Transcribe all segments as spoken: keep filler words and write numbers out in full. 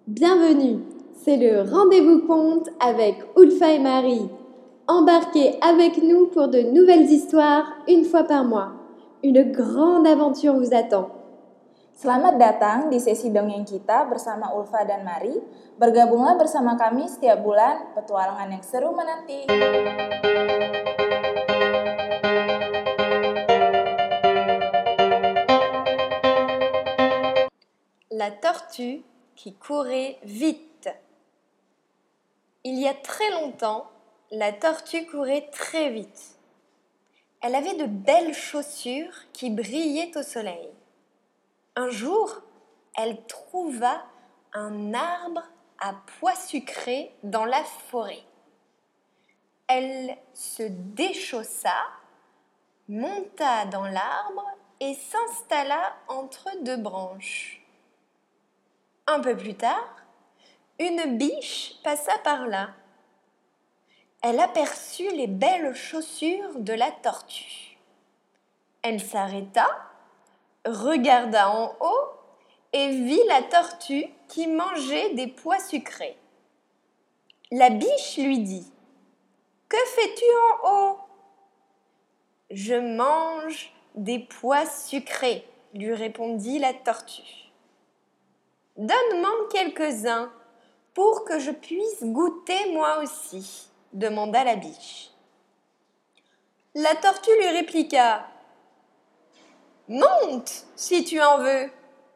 Bienvenue, c'est le rendez-vous conte avec Ulfa et Marie. Embarquez avec nous pour de nouvelles histoires une fois par mois. Une grande aventure vous attend. Selamat datang di sesi dongeng kita bersama Ulfa dan Mari. Bergabunglah bersama kami setiap bulan, petualangan yang seru menanti. La tortue qui courait vite. Il y a très longtemps, la tortue courait très vite. Elle avait de belles chaussures qui brillaient au soleil. Un jour, elle trouva un arbre à pois sucrés dans la forêt. Elle se déchaussa, monta dans l'arbre et s'installa entre deux branches. Un peu plus tard, une biche passa par là. Elle aperçut les belles chaussures de la tortue. Elle s'arrêta, regarda en haut et vit la tortue qui mangeait des pois sucrés. La biche lui dit : « Que fais-tu en haut ? » ?»« Je mange des pois sucrés, » lui répondit la tortue. « Donne-m'en quelques-uns pour que je puisse goûter moi aussi, » demanda la biche. La tortue lui répliqua : « Monte, si tu en veux. »«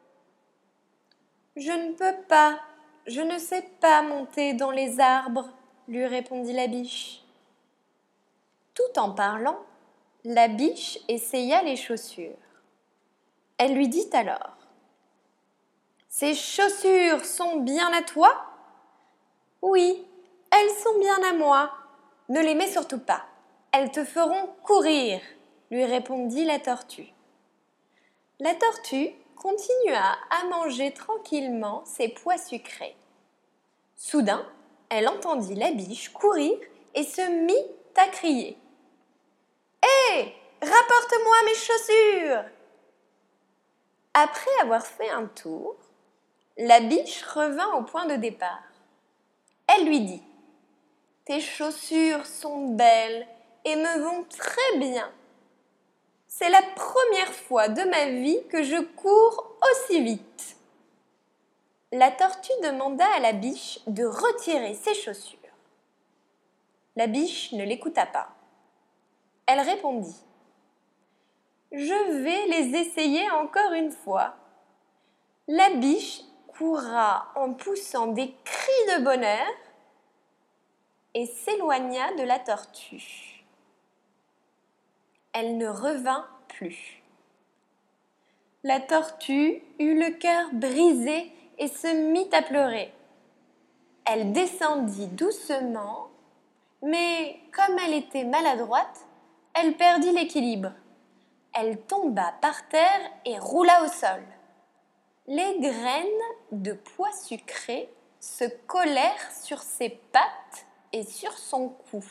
Je ne peux pas, je ne sais pas monter dans les arbres, » lui répondit la biche. Tout en parlant, la biche essaya les chaussures. Elle lui dit alors : « Ces chaussures sont bien à toi ? » ?»« Oui, elles sont bien à moi. Ne les mets surtout pas. Elles te feront courir, » lui répondit la tortue. La tortue continua à manger tranquillement ses pois sucrés. Soudain, elle entendit la biche courir et se mit à crier : « Hé, rapporte-moi mes chaussures !» Après avoir fait un tour, la biche revint au point de départ. Elle lui dit : « Tes chaussures sont belles et me vont très bien. C'est la première fois de ma vie que je cours aussi vite. » La tortue demanda à la biche de retirer ses chaussures. La biche ne l'écouta pas. Elle répondit : « Je vais les essayer encore une fois. » La biche courra en poussant des cris de bonheur et s'éloigna de la tortue. Elle ne revint plus. La tortue eut le cœur brisé et se mit à pleurer. Elle descendit doucement, mais comme elle était maladroite, elle perdit l'équilibre. Elle tomba par terre et roula au sol. Les graines de pois sucrés se collèrent sur ses pattes et sur son cou.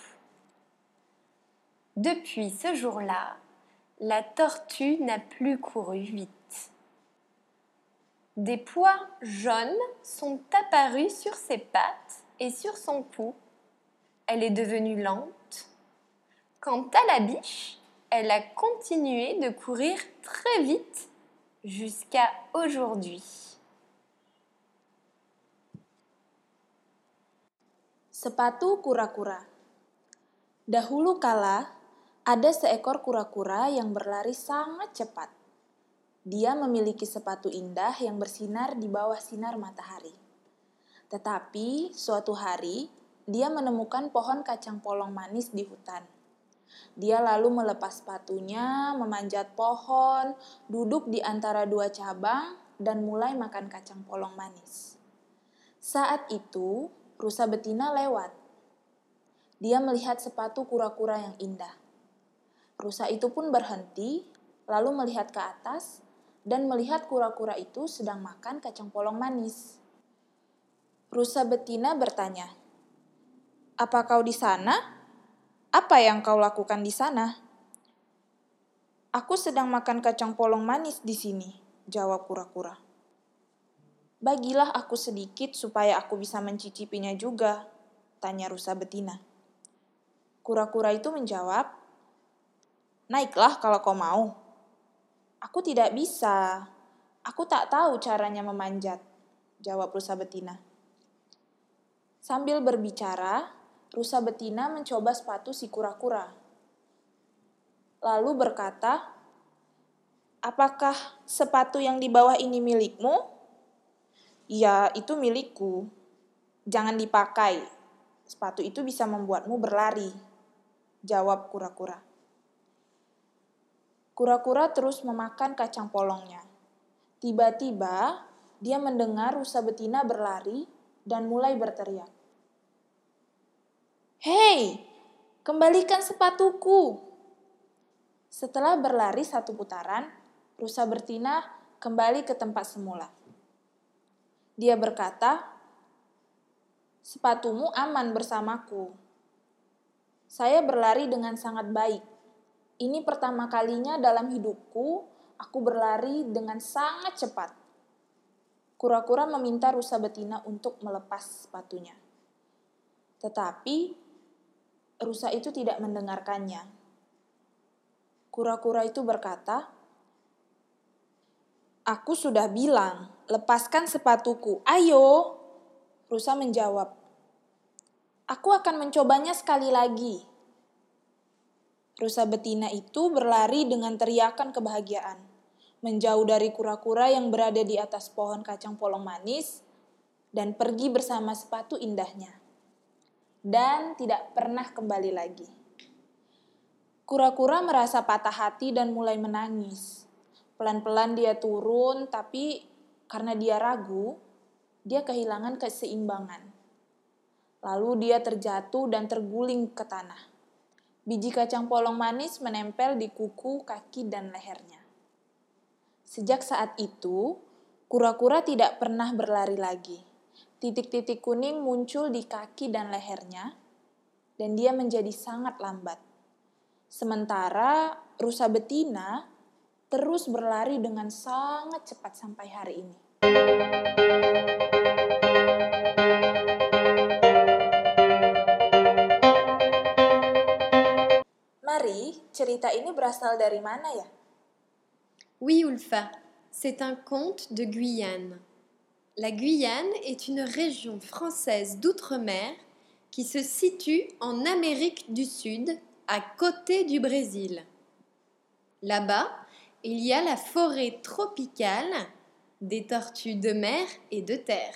Depuis ce jour-là, la tortue n'a plus couru vite. Des pois jaunes sont apparus sur ses pattes et sur son cou. Elle est devenue lente. Quant à la biche, elle a continué de courir très vite jusqu'à aujourd'hui. Sepatu kura-kura. Dahulu kala, ada seekor kura-kura yang berlari sangat cepat. Dia memiliki sepatu indah yang bersinar di bawah sinar matahari. Tetapi, suatu hari, dia menemukan pohon kacang polong manis di hutan. Dia lalu melepas sepatunya, memanjat pohon, duduk di antara dua cabang, dan mulai makan kacang polong manis. Saat itu, rusa betina lewat. Dia melihat sepatu kura-kura yang indah. Rusa itu pun berhenti, lalu melihat ke atas, dan melihat kura-kura itu sedang makan kacang polong manis. Rusa betina bertanya, "Apa kau di sana? Apa yang kau lakukan di sana?" "Aku sedang makan kacang polong manis di sini," jawab kura-kura. Bagilah aku sedikit supaya aku bisa mencicipinya juga, tanya rusa betina. Kura-kura itu menjawab, naiklah kalau kau mau. Aku tidak bisa, aku tak tahu caranya memanjat, jawab rusa betina. Sambil berbicara, rusa betina mencoba sepatu si kura-kura. Lalu berkata, apakah sepatu yang di bawah ini milikmu? Ya, itu milikku. Jangan dipakai. Sepatu itu bisa membuatmu berlari, jawab kura-kura. Kura-kura terus memakan kacang polongnya. Tiba-tiba, dia mendengar rusa betina berlari dan mulai berteriak. Hei, kembalikan sepatuku. Setelah berlari satu putaran, rusa betina kembali ke tempat semula. Dia berkata, sepatumu aman bersamaku. Saya berlari dengan sangat baik. Ini pertama kalinya dalam hidupku, aku berlari dengan sangat cepat. Kura-kura meminta rusa betina untuk melepas sepatunya. Tetapi, rusa itu tidak mendengarkannya. Kura-kura itu berkata, aku sudah bilang, lepaskan sepatuku, ayo. Rusa menjawab, aku akan mencobanya sekali lagi. Rusa betina itu berlari dengan teriakan kebahagiaan, menjauh dari kura-kura yang berada di atas pohon kacang polong manis, dan pergi bersama sepatu indahnya. Dan tidak pernah kembali lagi. Kura-kura merasa patah hati dan mulai menangis. Pelan-pelan dia turun, tapi karena dia ragu, dia kehilangan keseimbangan. Lalu dia terjatuh dan terguling ke tanah. Biji kacang polong manis menempel di kuku, kaki, dan lehernya. Sejak saat itu, kura-kura tidak pernah berlari lagi. Titik-titik kuning muncul di kaki dan lehernya, dan dia menjadi sangat lambat. Sementara rusa betina terus berlari dengan sangat cepat sampai hari ini. Mari, cerita ini berasal dari mana ya? Oui, Ulfa, c'est un conte de Guyane. La Guyane est une région française d'outre-mer qui se situe en Amérique du Sud, à côté du Brésil. Là-bas, il y a la forêt tropicale, des tortues de mer et de terre.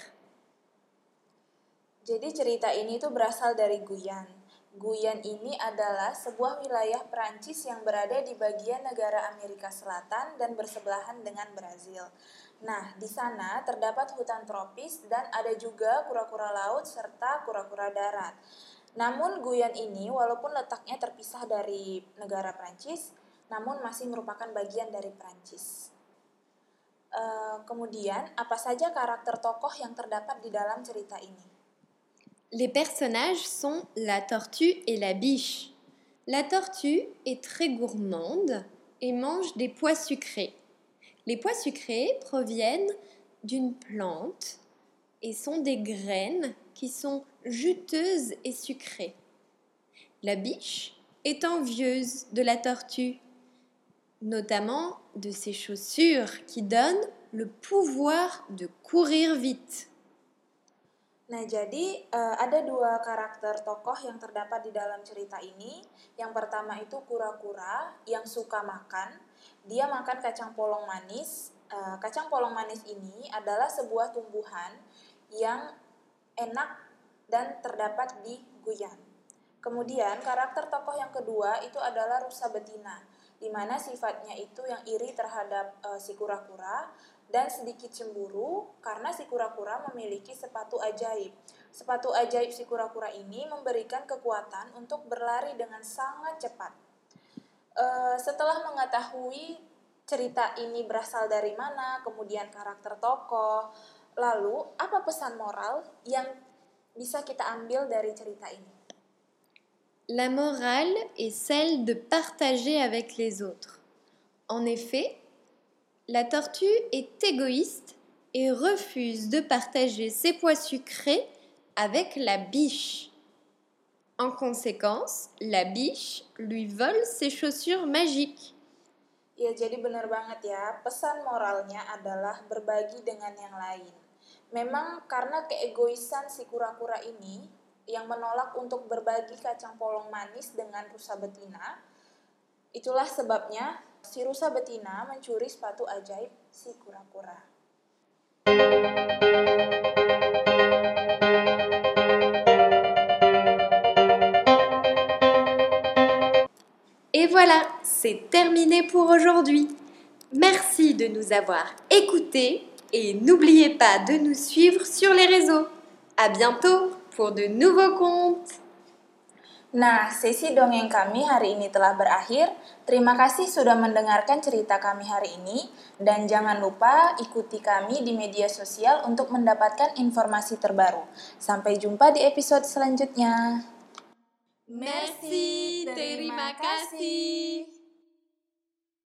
Jadi cerita ini tuh berasal dari Guyane. Guyane ini adalah sebuah wilayah Perancis yang berada di bagian negara Amerika Selatan dan bersebelahan dengan Brazil. Nah, di sana terdapat hutan tropis dan ada juga kura-kura laut serta kura-kura darat. Namun Guyane ini walaupun letaknya terpisah dari negara Perancis, namun masih merupakan bagian dari Perancis. Uh, kemudian, apa saja karakter tokoh yang terdapat di dalam cerita ini? Les personnages sont la tortue et la biche. La tortue est très gourmande et mange des pois sucrés. Les pois sucrés proviennent d'une plante et sont des graines qui sont juteuses et sucrées. La biche est envieuse de la tortue, notamment de ses chaussures qui donnent le pouvoir de courir vite. Nah, jadi uh, ada dua karakter tokoh yang terdapat di dalam cerita ini. Yang pertama itu kura-kura yang suka makan. Dia makan kacang polong manis. Uh, kacang polong manis ini adalah sebuah tumbuhan yang enak dan terdapat di Guyane. Kemudian karakter tokoh yang kedua itu adalah rusa betina, di mana sifatnya itu yang iri terhadap uh, si kura-kura dan sedikit cemburu karena si kura-kura memiliki sepatu ajaib. Sepatu ajaib si kura-kura ini memberikan kekuatan untuk berlari dengan sangat cepat. Uh, setelah mengetahui cerita ini berasal dari mana, kemudian karakter tokoh, lalu apa pesan moral yang bisa kita ambil dari cerita ini? La morale est celle de partager avec les autres. En effet, la tortue est égoïste et refuse de partager ses pois sucrés avec la biche. En conséquence, la biche lui vole ses chaussures magiques. Ya, jadi benar banget ya, pesan moralnya adalah berbagi dengan yang lain. Memang karena keegoisan si kura-kura ini yang menolak untuk berbagi kacang polong manis dengan rusa betina, itulah sebabnya si rusa betina mencuri sepatu ajaib si kura-kura. Et voilà, c'est terminé pour aujourd'hui. Merci de nous avoir écoutés et n'oubliez pas de nous suivre sur les réseaux. À bientôt pour de nouveaux contes. Nah, sesi dongeng kami hari ini telah berakhir. Terima kasih sudah mendengarkan cerita kami hari ini. Dan jangan lupa ikuti kami di media sosial untuk mendapatkan informasi terbaru. Sampai jumpa di episode selanjutnya. Merci, terima kasih.